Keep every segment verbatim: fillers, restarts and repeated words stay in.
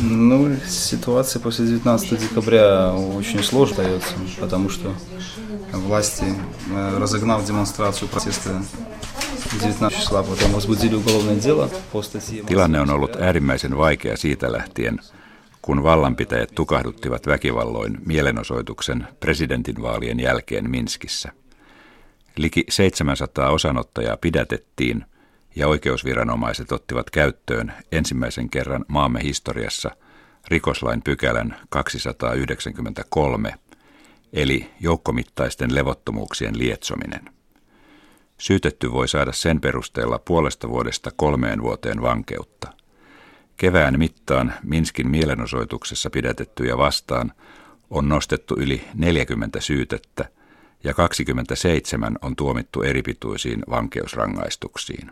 Ну, ситуация после девятнадцатого декабря очень сложно дается, потому что власти, разогнав демонстрацию протеста девятнадцатого числа, потом возбудили уголовное дело по статье. Tilanne on ollut äärimmäisen vaikea siitä lähtien, kun vallanpitäjät tukahduttivat väkivalloin mielenosoituksen presidentinvaalien jälkeen Minskissä. Liki seitsemänsataa osanottajaa pidätettiin ja oikeusviranomaiset ottivat käyttöön ensimmäisen kerran maamme historiassa rikoslain pykälän kaksisataayhdeksänkymmentäkolme, eli joukkomittaisten levottomuuksien lietsominen. Syytetty voi saada sen perusteella puolesta vuodesta kolmeen vuoteen vankeutta. Kevään mittaan Minskin mielenosoituksessa pidätettyjä vastaan on nostettu yli neljäkymmentä syytettä ja kaksikymmentäseitsemän on tuomittu eripituisiin vankeusrangaistuksiin.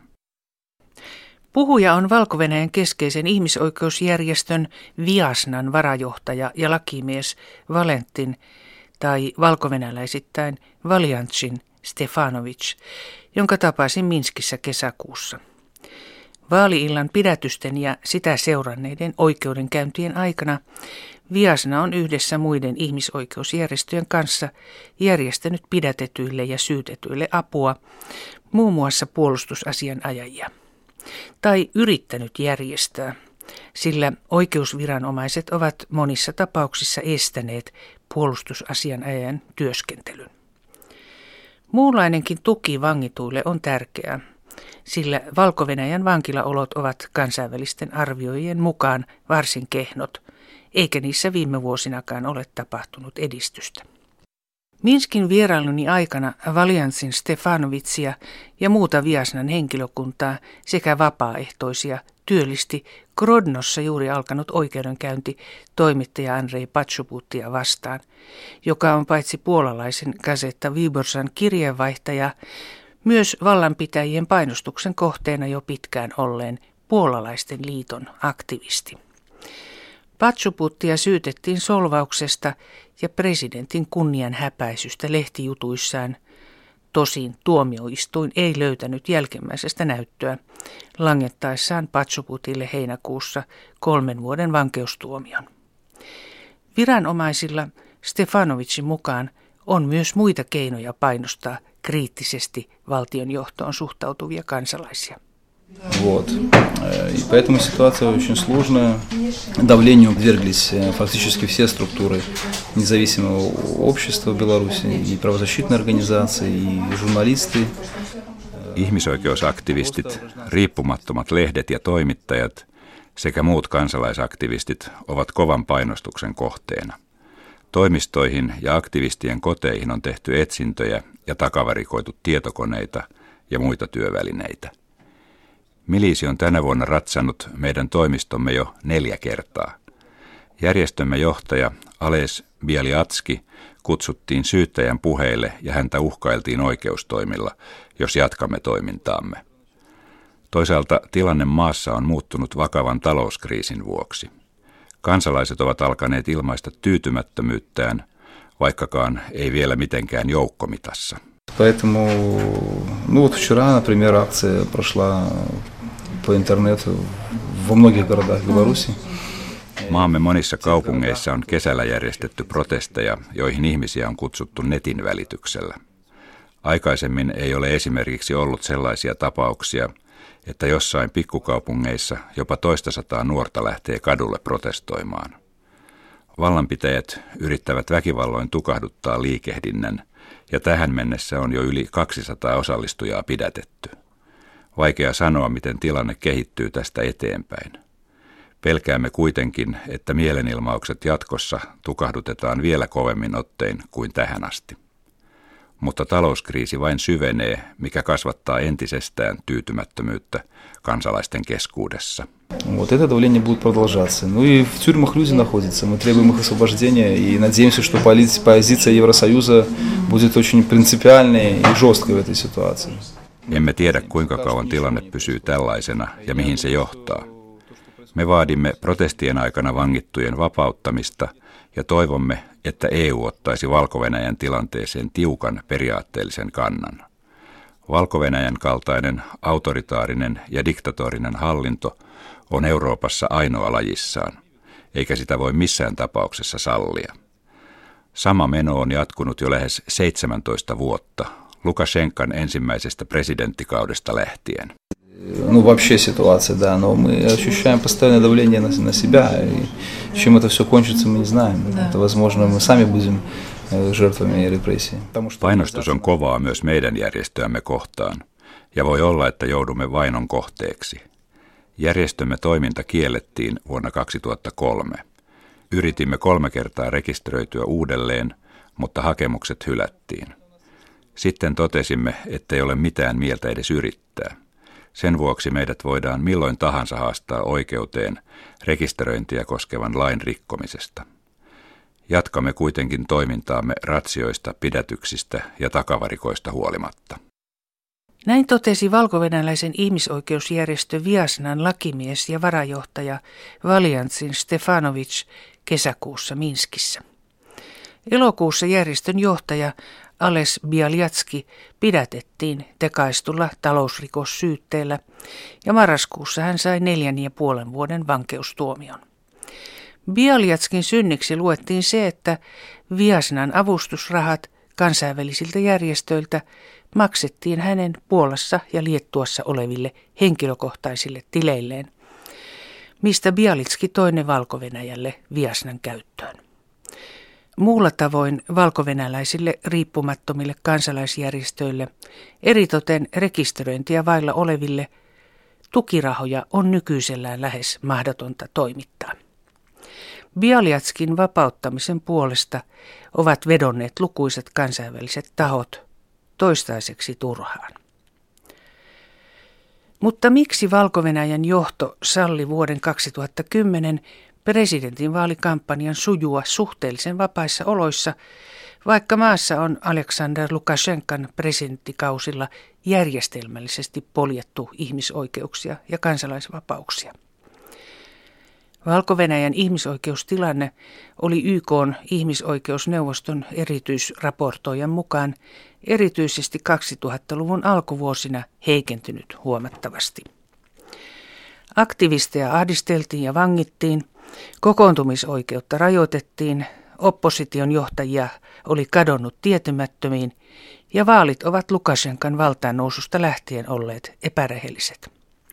Puhuja on Valko-Venäjän keskeisen ihmisoikeusjärjestön Viasnan varajohtaja ja lakimies Valentin tai valkovenäläisittäin Valjantsin Stefanovic, jonka tapasin Minskissä kesäkuussa. Vaali-illan pidätysten ja sitä seuranneiden oikeudenkäyntien aikana Viasna on yhdessä muiden ihmisoikeusjärjestöjen kanssa järjestänyt pidätetyille ja syytetyille apua, muun muassa puolustusasianajajia, tai yrittänyt järjestää, sillä oikeusviranomaiset ovat monissa tapauksissa estäneet puolustusasianajajan työskentelyn. Muunlainenkin tuki vangituille on tärkeää, sillä Valko-Venäjän vankilaolot ovat kansainvälisten arvioijien mukaan varsin kehnot, eikä niissä viime vuosinakaan ole tapahtunut edistystä. Minskin vierailuni aikana Valjantsin Stefanovitsia ja muuta Viasnan henkilökuntaa sekä vapaaehtoisia työllisti Grodnossa juuri alkanut oikeudenkäynti toimittaja Andrei Poczobuttia vastaan, joka on paitsi puolalaisen Gazeta Wyborczan kirjeenvaihtaja, myös vallanpitäjien painostuksen kohteena jo pitkään olleen puolalaisten liiton aktivisti. Poczobuttia syytettiin solvauksesta ja presidentin kunnian häpäisystä lehtijutuissaan. Tosin tuomioistuin ei löytänyt jälkimmäisestä näyttöä langettaessaan Poczobutille heinäkuussa kolmen vuoden vankeustuomion. Viranomaisilla Stefanovicin mukaan on myös muita keinoja painostaa kriittisesti valtionjohtoon suhtautuvia kansalaisia. Вот. И поэтому ситуация очень сложная. Давлению подверглись фактически все структуры независимого общества в Беларуси, и правозащитные организации, и журналисты. Ihmisoikeusaktivistit, riippumattomat lehdet ja toimittajat sekä muut kansalaisaktivistit ovat kovan painostuksen kohteena. Toimistoihin ja aktivistien koteihin on tehty etsintöjä ja takavarikoitu tietokoneita ja muita työvälineitä. Miliisi on tänä vuonna ratsannut meidän toimistomme jo neljä kertaa. Järjestömme johtaja Ales Bialiatski kutsuttiin syyttäjän puheille ja häntä uhkailtiin oikeustoimilla, jos jatkamme toimintaamme. Toisaalta tilanne maassa on muuttunut vakavan talouskriisin vuoksi. Kansalaiset ovat alkaneet ilmaista tyytymättömyyttään, vaikkakaan ei vielä mitenkään joukkomitassa. Поэтому, ну вот вчера, например, акция прошла по интернету во многих городах Беларуси. Maamme monissa kaupungeissa on kesällä järjestetty protesteja, joihin ihmisiä on kutsuttu netin välityksellä. Aikaisemmin ei ole esimerkiksi ollut sellaisia tapauksia, että jossain pikkukaupungeissa jopa toistasataa nuorta lähtee kadulle protestoimaan. Vallanpitäjät yrittävät väkivalloin tukahduttaa liikehdinnän, ja tähän mennessä on jo yli kaksisataa osallistujaa pidätetty. Vaikea sanoa, miten tilanne kehittyy tästä eteenpäin. Pelkäämme kuitenkin, että mielenilmaukset jatkossa tukahdutetaan vielä kovemmin ottein kuin tähän asti. Mutta talouskriisi vain syvenee, mikä kasvattaa entisestään tyytymättömyyttä kansalaisten keskuudessa. Вот это давление будет продолжаться. Ну и в тюрьмах люди находятся. Мы требуем их освобождения и надеемся, что позиция Евросоюза будет очень принципиальной и жесткой в этой ситуации. Emme tiedä, kuinka kauan tilanne pysyy tällaisena ja mihin se johtaa. Me vaadimme protestien aikana vangittujen vapauttamista ja toivomme, että E U ottaisi Valko-Venäjän tilanteeseen tiukan periaatteellisen kannan. Valko-Venäjän kaltainen autoritaarinen ja diktatorinen hallinto on Euroopassa ainoa lajissaan. eikä sitä voi missään tapauksessa sallia. Sama meno on jatkunut jo lähes seitsemäntoista vuotta, Lukashenkan ensimmäisestä presidenttikaudesta lähtien. Ну, вообще ситуация, да, но мы ощущаем постоянное давление на, на себя, и чем это все кончится, мы не знаем. Да. Это, возможно, мы сами будем жертвами репрессий. Painostus on kovaa myös meidän järjestöämme kohtaan, ja voi olla, että joudumme vainon kohteeksi. Järjestömme toiminta kiellettiin vuonna kaksituhattakolme. Yritimme kolme kertaa rekisteröityä uudelleen, mutta hakemukset hylättiin. Sitten totesimme, ettei ole mitään mieltä edes yrittää. Sen vuoksi meidät voidaan milloin tahansa haastaa oikeuteen rekisteröintiä koskevan lain rikkomisesta. Jatkamme kuitenkin toimintaamme ratsioista, pidätyksistä ja takavarikoista huolimatta. Näin totesi valkovenäläisen ihmisoikeusjärjestö Viasnan lakimies ja varajohtaja Valjantsin Stefanovic kesäkuussa Minskissä. Elokuussa järjestön johtaja Ales Bialjatski pidätettiin tekaistulla talousrikossyytteellä ja marraskuussa hän sai neljän ja puolen vuoden vankeustuomion. Bialjatskin synniksi luettiin se, että Viasnan avustusrahat kansainvälisiltä järjestöiltä maksettiin hänen Puolassa ja Liettuassa oleville henkilökohtaisille tileilleen, mistä Bialitski toi ne Valko-Venäjälle Viasnan käyttöön. Muulla tavoin valkovenäläisille riippumattomille kansalaisjärjestöille, eritoten rekisteröintiä vailla oleville, tukirahoja on nykyisellään lähes mahdotonta toimittaa. Bialjatskin vapauttamisen puolesta ovat vedonneet lukuisat kansainväliset tahot, toistaiseksi turhaan. Mutta miksi Valko-Venäjän johto salli vuoden kaksituhattakymmenen presidentinvaalikampanjan sujua suhteellisen vapaissa oloissa, vaikka maassa on Alexander Lukashenkan presidenttikausilla järjestelmällisesti poljettu ihmisoikeuksia ja kansalaisvapauksia? Valko-Venäjän ihmisoikeustilanne oli Y K:n ihmisoikeusneuvoston erityisraportoijan mukaan erityisesti kaksituhattaluvun alkuvuosina heikentynyt huomattavasti. Aktivisteja ahdisteltiin ja vangittiin, kokoontumisoikeutta rajoitettiin, opposition johtajia oli kadonnut tietymättömiin ja vaalit ovat Lukashenkan valtaan noususta lähtien olleet epärehelliset.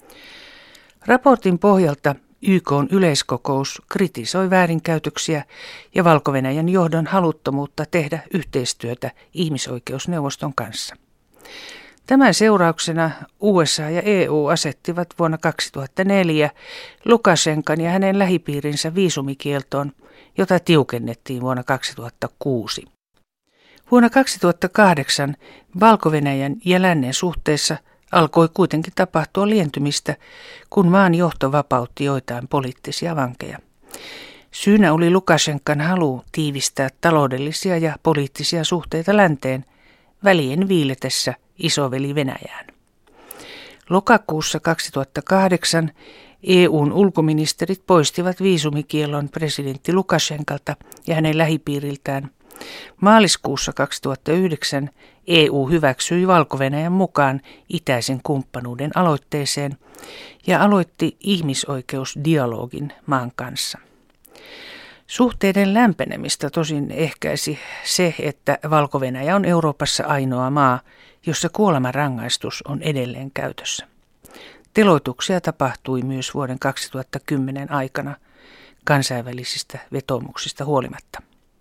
Raportin pohjalta Y K:n yleiskokous kritisoi väärinkäytöksiä ja Valko-Venäjän johdon haluttomuutta tehdä yhteistyötä ihmisoikeusneuvoston kanssa. Tämän seurauksena U S A ja E U asettivat vuonna kaksituhattaneljä Lukashenkan ja hänen lähipiirinsä viisumikieltoon, jota tiukennettiin vuonna kaksituhattakuusi. Vuonna kaksituhattakahdeksan Valko-Venäjän ja lännen suhteessa alkoi kuitenkin tapahtua lientymistä, kun maan johto vapautti joitain poliittisia vankeja. Syynä oli Lukashenkan halu tiivistää taloudellisia ja poliittisia suhteita länteen välien viiletessä isoveli Venäjään. Lokakuussa kaksituhattakahdeksan E U:n ulkoministerit poistivat viisumikiellon presidentti Lukashenkalta ja hänen lähipiiriltään. Maaliskuussa kaksituhattayhdeksän E U hyväksyi Valko-Venäjän mukaan itäisen kumppanuuden aloitteeseen ja aloitti ihmisoikeusdialogin maan kanssa. Suhteiden lämpenemistä tosin ehkäisi se, että Valko-Venäjä on Euroopassa ainoa maa, jossa kuolemanrangaistus on edelleen käytössä. Teloituksia tapahtui myös vuoden kaksituhattakymmenen aikana kansainvälisistä vetoomuksista huolimatta.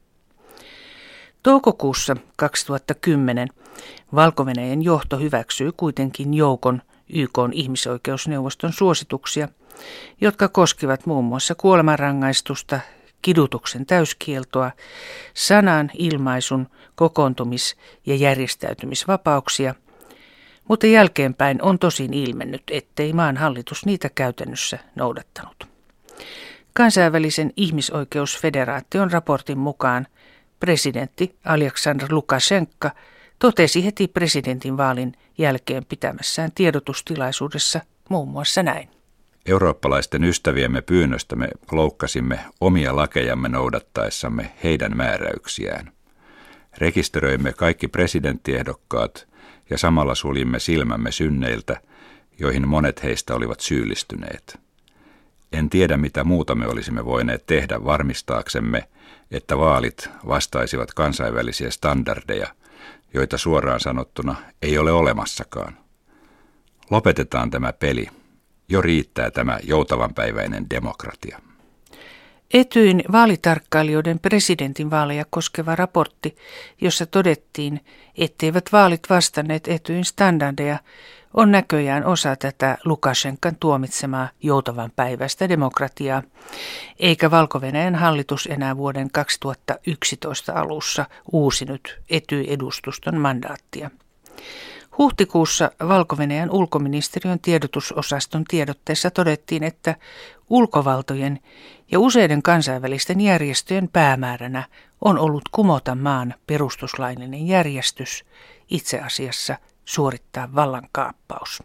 Toukokuussa kaksituhattakymmenen Valko-Venäjän johto hyväksyi kuitenkin joukon Y K:n ihmisoikeusneuvoston suosituksia, jotka koskivat muun muassa kuolemanrangaistusta, kidutuksen täyskieltoa, sanan, ilmaisun, kokoontumis- ja järjestäytymisvapauksia, mutta jälkeenpäin on tosin ilmennyt, ettei maan hallitus niitä käytännössä noudattanut. Kansainvälisen ihmisoikeusfederaation raportin mukaan presidentti Alexander Lukashenka totesi heti presidentinvaalin jälkeen pitämässään tiedotustilaisuudessa muun muassa näin. Eurooppalaisten ystäviemme pyynnöstä me loukkasimme omia lakejamme noudattaessamme heidän määräyksiään. Rekisteröimme kaikki presidenttiehdokkaat ja samalla suljimme silmämme synneiltä, joihin monet heistä olivat syyllistyneet. En tiedä, mitä muuta me olisimme voineet tehdä varmistaaksemme, että vaalit vastaisivat kansainvälisiä standardeja, joita suoraan sanottuna ei ole olemassakaan. Lopetetaan tämä peli. Jo riittää tämä joutavanpäiväinen demokratia. Etyin vaalitarkkailijoiden presidentinvaaleja koskeva raportti, jossa todettiin, etteivät vaalit vastanneet Etyin standardeja, on näköjään osa tätä Lukashenkan tuomitsemaa joutavanpäiväistä demokratiaa, eikä Valko-Venäjän hallitus enää vuoden kaksituhattayksitoista alussa uusinut Etyj-edustuston mandaattia. Huhtikuussa Valko-Venäjän ulkoministeriön tiedotusosaston tiedotteessa todettiin, että ulkovaltojen ja useiden kansainvälisten järjestöjen päämääränä on ollut kumota maan perustuslaillinen järjestys, itse asiassa suorittaa vallankaappaus.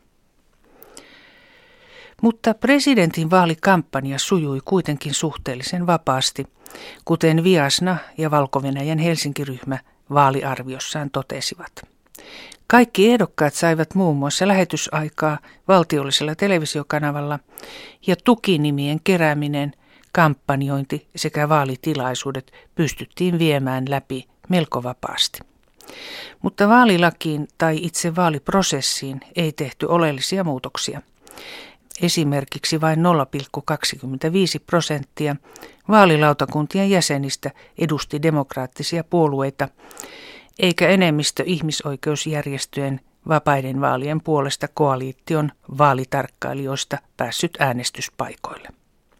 Mutta presidentin vaalikampanja sujui kuitenkin suhteellisen vapaasti, kuten Viasna ja Valko-Venäjän Helsinki-ryhmä vaaliarviossaan totesivat. Kaikki ehdokkaat saivat muun muassa lähetysaikaa valtiollisella televisiokanavalla ja tukinimien kerääminen, kampanjointi sekä vaalitilaisuudet pystyttiin viemään läpi melko vapaasti. Mutta vaalilakiin tai itse vaaliprosessiin ei tehty oleellisia muutoksia. Esimerkiksi vain nolla pilkku kaksikymmentäviisi prosenttia vaalilautakuntien jäsenistä edusti demokraattisia puolueita, eikä enemmistö ihmisoikeusjärjestöjen vapaiden vaalien puolesta koaliition vaalitarkkailijoista päässyt äänestyspaikoille.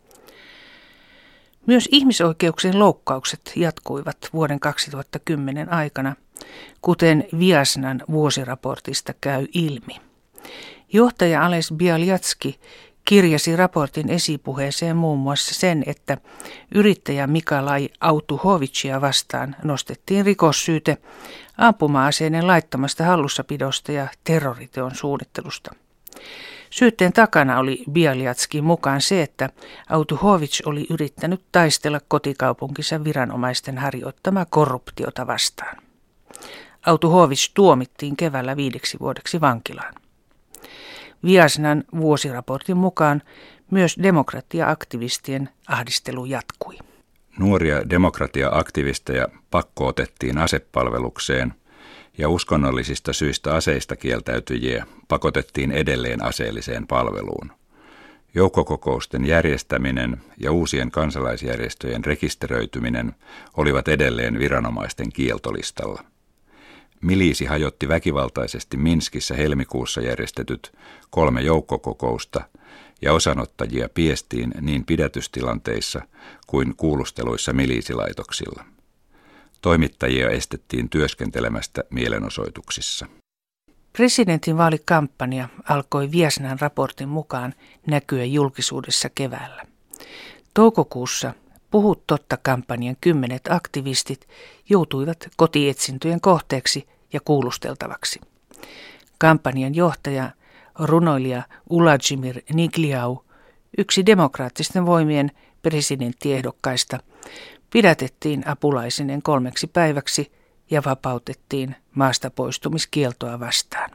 Myös ihmisoikeuksien loukkaukset jatkuivat vuoden kaksituhattakymmenen aikana, kuten Viasnan vuosiraportista käy ilmi. Johtaja Ales Bialyatski kirjasi raportin esipuheeseen muun muassa sen, että yrittäjä Mikalai Autuhovicia vastaan nostettiin rikossyyte ampuma-aseiden laittomasta hallussapidosta ja terroriteon suunnittelusta. Syytteen takana oli Bialyatskin mukaan se, että Autuhovic oli yrittänyt taistella kotikaupunkinsa viranomaisten harjoittamaa korruptiota vastaan. Autuhovic tuomittiin keväällä viideksi vuodeksi vankilaan. Viasnan vuosiraportin mukaan myös demokratia-aktivistien ahdistelu jatkui. Nuoria demokratia-aktivisteja pakkootettiin asepalvelukseen ja uskonnollisista syistä aseista kieltäytyjiä pakotettiin edelleen aseelliseen palveluun. Joukkokokousten järjestäminen ja uusien kansalaisjärjestöjen rekisteröityminen olivat edelleen viranomaisten kieltolistalla. Miliisi hajotti väkivaltaisesti Minskissä helmikuussa järjestetyt kolme joukkokokousta ja osanottajia piestiin niin pidätystilanteissa kuin kuulusteluissa miliisilaitoksilla. Toimittajia estettiin työskentelemästä mielenosoituksissa. Presidentinvaalikampanja alkoi Viasnan raportin mukaan näkyä julkisuudessa keväällä. Toukokuussa Puhu totta-kampanjan kymmenet aktivistit joutuivat kotietsintöjen kohteeksi ja kuulusteltavaksi. Kampanjan johtaja, runoilija Uladzimir Nigliau, yksi demokraattisten voimien presidenttiehdokkaista, pidätettiin apulaisinen kolmeksi päiväksi ja vapautettiin maasta poistumiskieltoa vastaan.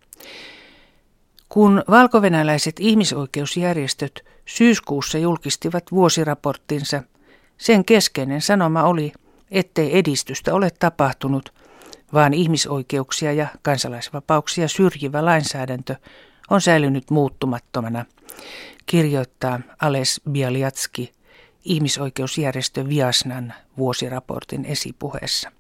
Kun valkovenäläiset ihmisoikeusjärjestöt syyskuussa julkistivat vuosiraporttinsa, sen keskeinen sanoma oli, ettei edistystä ole tapahtunut, vaan ihmisoikeuksia ja kansalaisvapauksia syrjivä lainsäädäntö on säilynyt muuttumattomana, kirjoittaa Ales Bialyatski ihmisoikeusjärjestö Viasnan vuosiraportin esipuheessa.